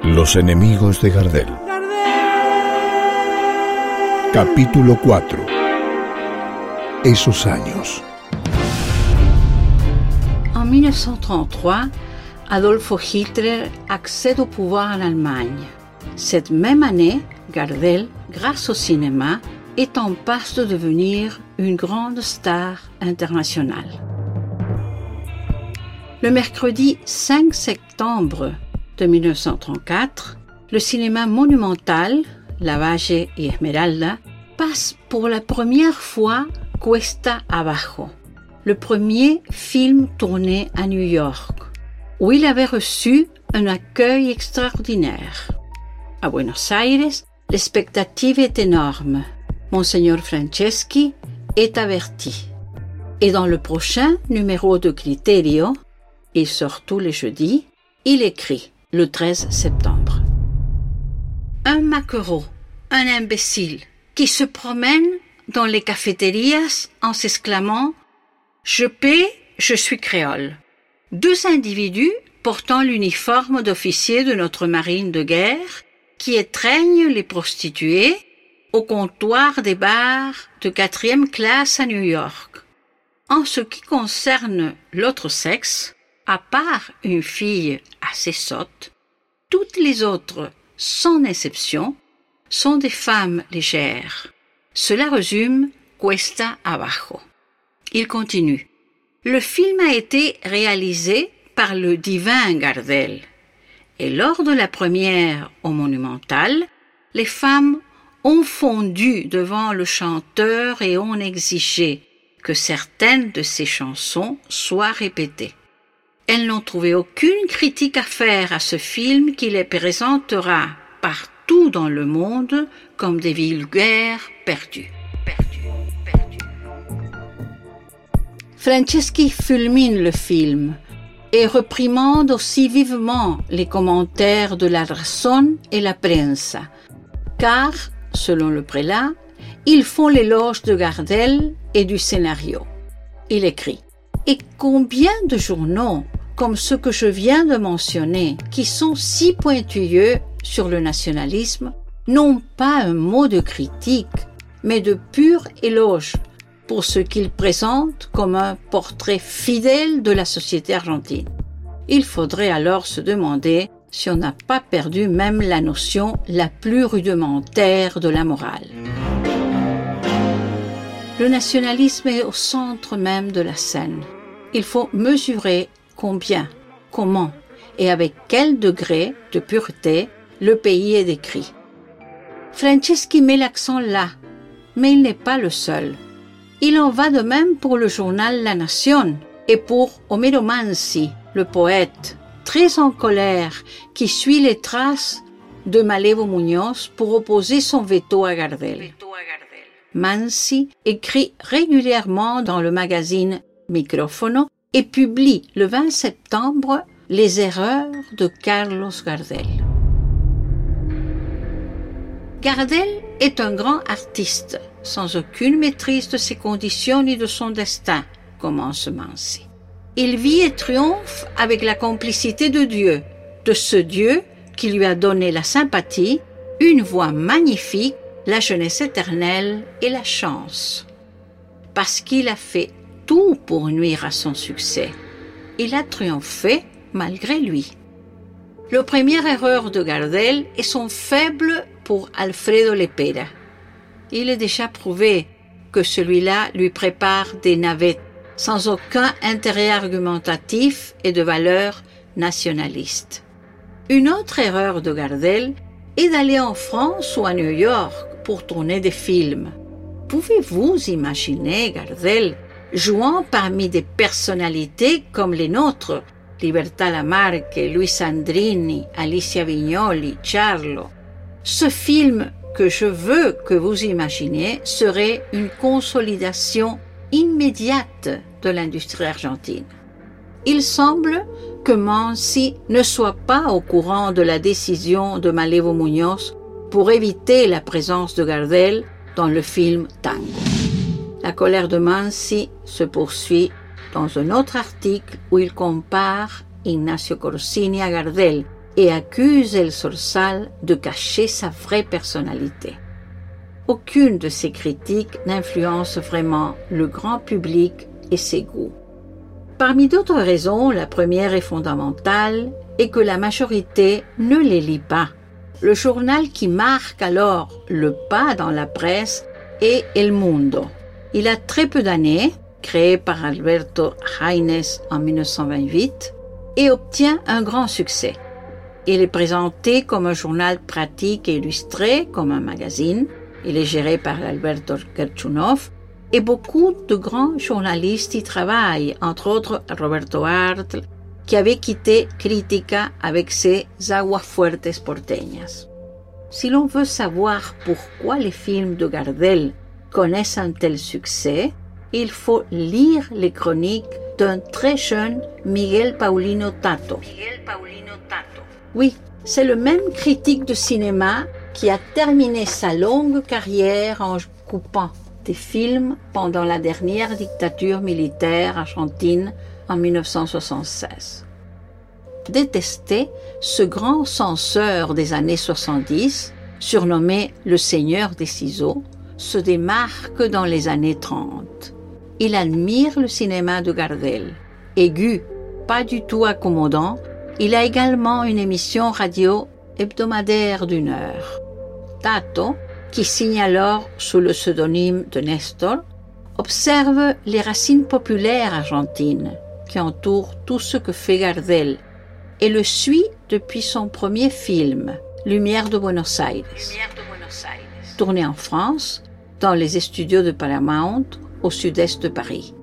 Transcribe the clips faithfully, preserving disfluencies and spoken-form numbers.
Los enemigos de Gardel. Capítulo cuatro. Esos años. En mille neuf cent trente-trois, Adolf Hitler accède au pouvoir en Allemagne. Cette même année, Gardel, grâce au cinéma, est en passe de devenir une grande star internationale. Le mercredi cinq septembre de mille neuf cent trente-quatre, le cinéma monumental, La Valle y Esmeralda, passe pour la première fois Cuesta Abajo, le premier film tourné à New York, où il avait reçu un accueil extraordinaire. À Buenos Aires, l'expectative est énorme. Monseigneur Franceschi est averti. Et dans le prochain numéro de Criterio, il sort tous les jeudis, il écrit le treize septembre. Un maquereau, un imbécile, qui se promène dans les cafétérias en s'exclamant « Je paie, je suis créole ». Deux individus portant l'uniforme d'officier de notre marine de guerre qui étreignent les prostituées au comptoir des bars de quatrième classe à New York. En ce qui concerne l'autre sexe, à part une fille assez sotte, toutes les autres, sans exception, sont des femmes légères. Cela résume Cuesta Abajo. Il continue. Le film a été réalisé par le divin Gardel. Et lors de la première au Monumental, les femmes ont fondu devant le chanteur et ont exigé que certaines de ses chansons soient répétées. Elles n'ont trouvé aucune critique à faire à ce film qui les présentera partout dans le monde comme des vulgaires perdus. Perdus, perdus. Franceschi fulmine le film et reprimande aussi vivement les commentaires de la Razón et la Prensa, car, selon le prélat, ils font l'éloge de Gardel et du scénario. Il écrit « Et combien de journaux, comme ceux que je viens de mentionner, qui sont si pointilleux sur le nationalisme, n'ont pas un mot de critique, mais de pur éloge pour ce qu'ils présentent comme un portrait fidèle de la société argentine. Il faudrait alors se demander si on n'a pas perdu même la notion la plus rudimentaire de la morale. » Le nationalisme est au centre même de la scène. Il faut mesurer combien, comment et avec quel degré de pureté le pays est décrit. Franceschi met l'accent là, mais il n'est pas le seul. Il en va de même pour le journal La Nación et pour Homero Mansi, le poète, très en colère, qui suit les traces de Malevo Muñoz pour opposer son veto à Gardel. Mansi écrit régulièrement dans le magazine Micrófono et publie le vingt septembre Les erreurs de Carlos Gardel. Gardel est un grand artiste, sans aucune maîtrise de ses conditions ni de son destin, commence Mansi. Il vit et triomphe avec la complicité de Dieu, de ce Dieu qui lui a donné la sympathie, une voix magnifique, la jeunesse éternelle et la chance. Parce qu'il a fait tout pour nuire à son succès. Il a triomphé malgré lui. La première erreur de Gardel est son faible pour Alfredo Lepera. Il est déjà prouvé que celui-là lui prépare des navettes sans aucun intérêt argumentatif et de valeur nationaliste. Une autre erreur de Gardel est d'aller en France ou à New York pour tourner des films. Pouvez-vous imaginer Gardel jouant parmi des personnalités comme les nôtres, Libertà Lamarque, Luis Sandrini, Alicia Vignoli, Charlo? Ce film que je veux que vous imaginiez serait une consolidation immédiate de l'industrie argentine. Il semble que Mansi ne soit pas au courant de la décision de Malevo Muñoz pour éviter la présence de Gardel dans le film Tango. La colère de Mansi se poursuit dans un autre article où il compare Ignacio Corsini à Gardel et accuse El Sorsal de cacher sa vraie personnalité. Aucune de ces critiques n'influence vraiment le grand public et ses goûts. Parmi d'autres raisons, la première et fondamentale est que la majorité ne les lit pas. Le journal qui marque alors le pas dans la presse est El Mundo. Il a très peu d'années, créé par Alberto Haines en mille neuf cent vingt-huit, et obtient un grand succès. Il est présenté comme un journal pratique et illustré, comme un magazine. Il est géré par Alberto Gerchunov et beaucoup de grands journalistes y travaillent, entre autres Roberto Artl, qui avait quitté Crítica avec ses Aguafuertes porteñas. Si l'on veut savoir pourquoi les films de Gardel connaissent un tel succès, il faut lire les chroniques d'un très jeune Miguel Paulino Tato. Miguel Paulino Tato. Oui, c'est le même critique de cinéma qui a terminé sa longue carrière en coupant des films pendant la dernière dictature militaire argentine en mille neuf cent soixante-seize. Détesté, ce grand censeur des années soixante-dix, surnommé le Seigneur des ciseaux, se démarque dans les années trente. Il admire le cinéma de Gardel. Aigu, pas du tout accommodant, il a également une émission radio hebdomadaire d'une heure. Tato, qui signe alors sous le pseudonyme de Nestor, observe les racines populaires argentines qui entourent tout ce que fait Gardel et le suit depuis son premier film, Lumière de Buenos Aires, tourné en France, dans les studios de Paramount, au sud-est de Paris.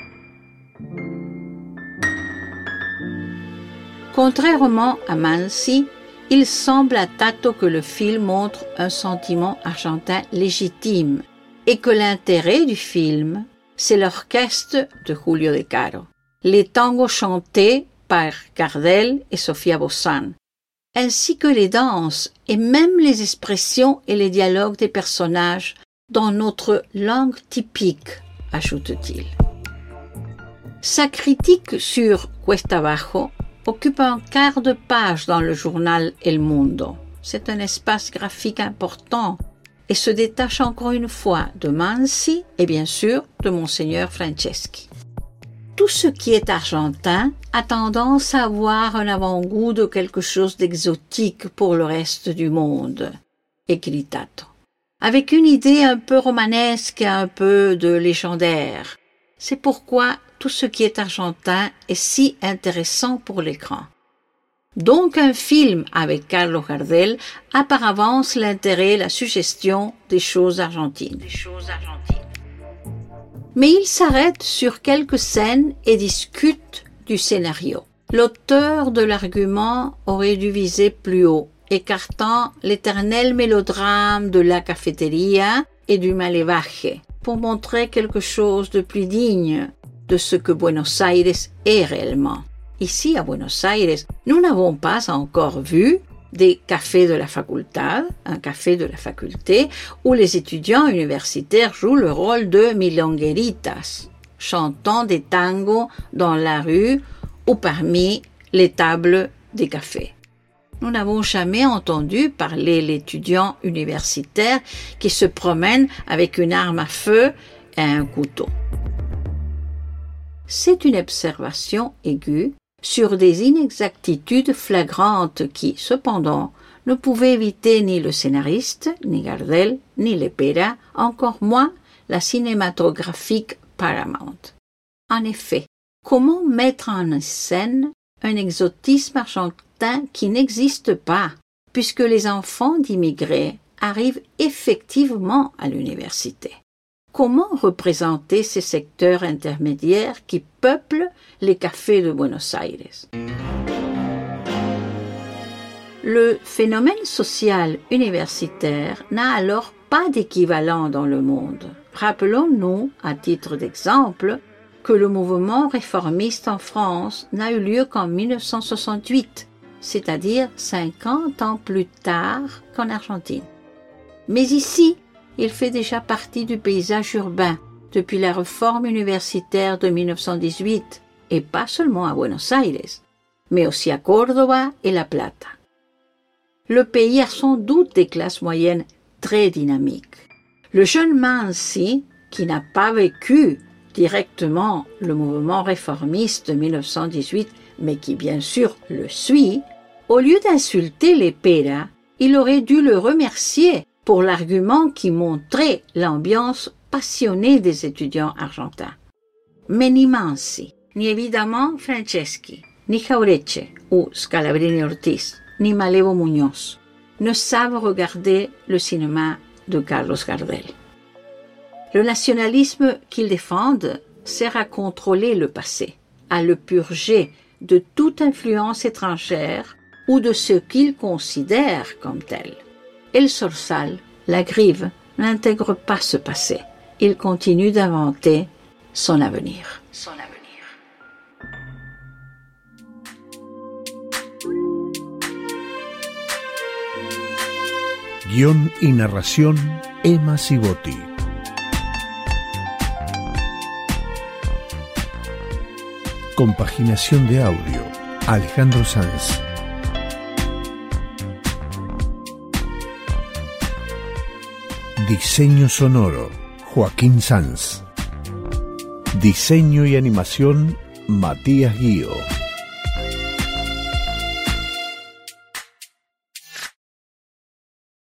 Contrairement à Mansi, il semble à Tato que le film montre un sentiment argentin légitime et que l'intérêt du film, c'est l'orchestre de Julio De Caro, les tangos chantés par Gardel et Sofia Bozán, ainsi que les danses et même les expressions et les dialogues des personnages dans notre langue typique, ajoute-t-il. Sa critique sur Cuesta Abajo occupe un quart de page dans le journal El Mundo. C'est un espace graphique important et se détache encore une fois de Mansi et bien sûr de Monseigneur Franceschi. Tout ce qui est argentin a tendance à avoir un avant-goût de quelque chose d'exotique pour le reste du monde, écrit Tato, avec une idée un peu romanesque et un peu de légendaire. C'est pourquoi tout ce qui est argentin est si intéressant pour l'écran. Donc un film avec Carlos Gardel a par avance l'intérêt et la suggestion des choses argentines. Des choses argentines. Mais il s'arrête sur quelques scènes et discute du scénario. L'auteur de l'argument aurait dû viser plus haut, écartant l'éternel mélodrame de la cafeteria et du malevaje, pour montrer quelque chose de plus digne de ce que Buenos Aires est réellement. Ici, à Buenos Aires, nous n'avons pas encore vu des cafés de la facultad, un café de la faculté, où les étudiants universitaires jouent le rôle de milongueritas, chantant des tangos dans la rue ou parmi les tables des cafés. Nous n'avons jamais entendu parler l'étudiant universitaire qui se promène avec une arme à feu et un couteau. C'est une observation aiguë sur des inexactitudes flagrantes qui, cependant, ne pouvaient éviter ni le scénariste, ni Gardel, ni Lepera, encore moins la cinématographique Paramount. En effet, comment mettre en scène un exotisme argentin qui n'existe pas, puisque les enfants d'immigrés arrivent effectivement à l'université? Comment représenter ces secteurs intermédiaires qui peuplent les cafés de Buenos Aires? Le phénomène social universitaire n'a alors pas d'équivalent dans le monde. Rappelons-nous, à titre d'exemple, que le mouvement réformiste en France n'a eu lieu qu'en mille neuf cent soixante-huit, c'est-à-dire cinquante ans plus tard qu'en Argentine. Mais ici, il fait déjà partie du paysage urbain depuis la réforme universitaire de mille neuf cent dix-huit, et pas seulement à Buenos Aires, mais aussi à Córdoba et La Plata. le pays a sans doute des classes moyennes très dynamiques. Le jeune Mansi, qui n'a pas vécu directement le mouvement réformiste de mille neuf cent dix-huit, mais qui bien sûr le suit, au lieu d'insulter les Pera, il aurait dû le remercier pour l'argument qui montrait l'ambiance passionnée des étudiants argentins. Mais ni Mansi, ni évidemment Franceschi, ni Jauretche ou Scalabrini Ortiz, ni Malevo Muñoz ne savent regarder le cinéma de Carlos Gardel. Le nationalisme qu'ils défendent sert à contrôler le passé, à le purger de toute influence étrangère ou de ce qu'ils considèrent comme tel. El Sorsal, la Grive, n'intègre pas ce passé. Il continue d'inventer son avenir. Son avenir. Guión y narración, Emma Sibotti. Compaginación de audio, Alejandro Sanz. Diseño sonoro, Joaquín Sanz. Diseño y animación, Matías Guío.